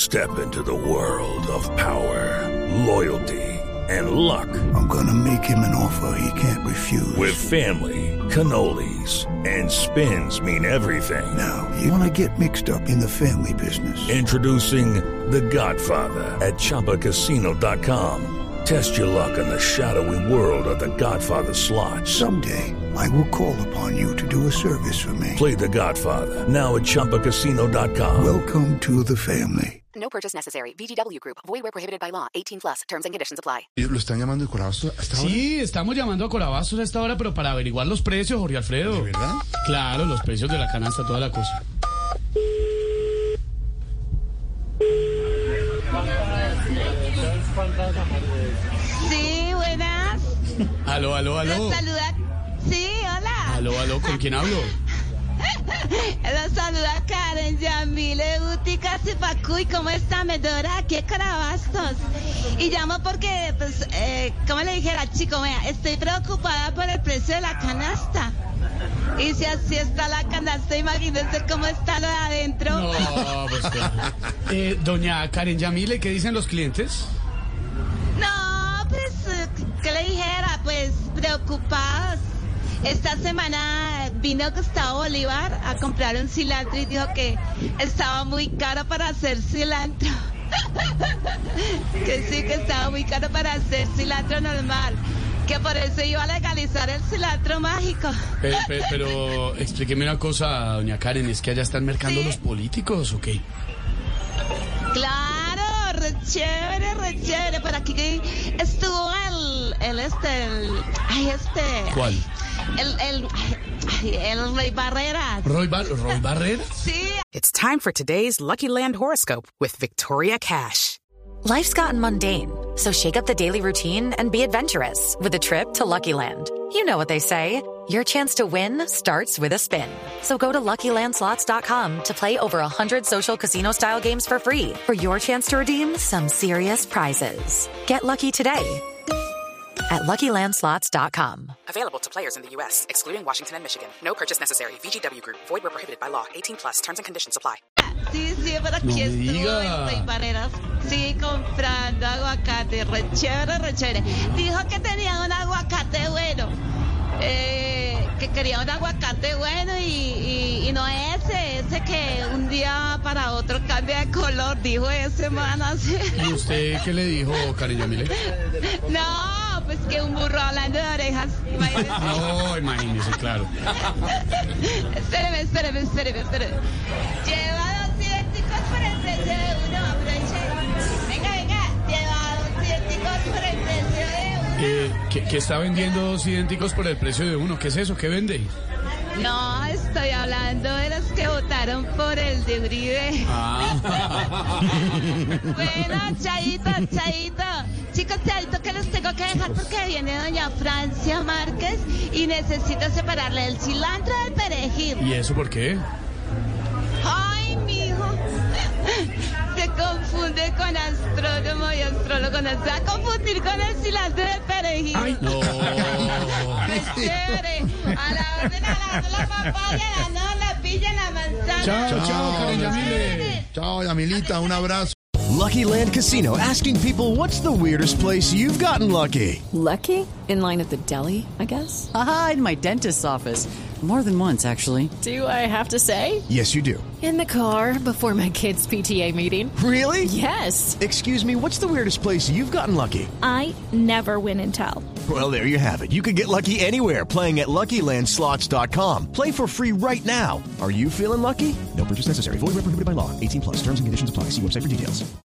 Step into the world of power, loyalty, and luck. I'm gonna make him an offer he can't refuse. With family, cannolis, and spins mean everything. Now, you wanna get mixed up in the family business. Introducing The Godfather at ChumbaCasino.com. Test your luck in the shadowy world of The Godfather slot. Someday, I will call upon you to do a service for me. Play The Godfather now at ChumbaCasino.com. Welcome to the family. No purchase necessary. VGW Group. Void where prohibited by law. 18+. Terms and conditions apply. ¿Lo están llamando de Corabastos hasta ahora? Sí, estamos llamando a Corabastos a esta hora, pero para averiguar los precios, Jorge Alfredo. ¿De verdad? Claro, los precios de la canasta, toda la cosa. Sí, buenas. Aló. Los saluda. Sí, hola. Aló, ¿con quién hablo? Los saluda Karen Yamile Utica Zipacuy. ¿Cómo está, Medora? Aquí en Corabastos. Y llamo porque, pues, como le dijera, chico, vea, estoy preocupada por el precio de la canasta. Y si así está la canasta, imagínense cómo está lo de adentro. No, pues claro. Doña Karen Yamile, ¿qué dicen los clientes? No, pues, ¿qué le dijera? Pues, preocupados. Esta semana vino Gustavo Bolívar a comprar un cilantro y dijo que estaba muy caro para hacer cilantro. Que sí, que estaba muy caro para hacer cilantro normal. Que por eso iba a legalizar el cilantro mágico. Pero explíqueme una cosa, doña Karen, ¿es que allá están mercando los políticos o qué? Claro, re chévere. Por aquí estuvo ¿Cuál? El Roy Barreras. ¿Roy Barreras? Sí. It's time for today's Lucky Land horoscope with Victoria Cash. Life's gotten mundane, so shake up the daily routine and be adventurous with a trip to Lucky Land. You know what they say, your chance to win starts with a spin. So go to LuckyLandSlots.com to play over 100 social casino-style games for free for your chance to redeem some serious prizes. Get lucky today at LuckyLandSlots.com. Available to players in the U.S., excluding Washington and Michigan. No purchase necessary. VGW Group. Void where prohibited by law. 18+. Terms and conditions apply. Sí, por aquí estuvo el Roy Barreras. Sí, comprando aguacate. Re chévere. Dijo que tenía un aguacate bueno. Que quería un aguacate bueno y no ese que un día para otro cambia de color. Dijo ese, man, así. ¿Y usted qué le dijo, Karen Yamile? No, pues que un burro hablando de orejas. Imagínese. No, imagínese, claro. Espéreme. Lleva 2 idénticos por el precio de uno. Aproveche. Venga. Lleva 2 idénticos por el precio de uno. ¿Qué está vendiendo 2 idénticos por el precio de uno? ¿Qué es eso? ¿Qué vende? No, estoy hablando de los que votaron por el de Uribe. Bueno, chaito. Chicos, chaito, que los tengo que dejar porque viene doña Francia Márquez y necesito separarle el cilantro del perejil. ¿Y eso por qué? Ay, mijo. Se confunde con astrónomo y astrólogo. No se va a confundir con el cilantro del perejil. Ay, no. Es chévere. A la orden, la papaya, la pilla, la manzana. Chao, Karen Yamile. Chao, Yamilita, un abrazo. Lucky Land Casino, asking people, what's the weirdest place you've gotten lucky? Lucky? In line at the deli, I guess? Aha, in my dentist's office. More than once, actually. Do I have to say? Yes, you do. In the car before my kids' PTA meeting. Really? Yes. Excuse me, what's the weirdest place you've gotten lucky? I never win and tell. Well, there you have it. You can get lucky anywhere, playing at LuckyLandSlots.com. Play for free right now. Are you feeling lucky? No purchase necessary. Void where prohibited by law. 18+. Terms and conditions apply. See website for details.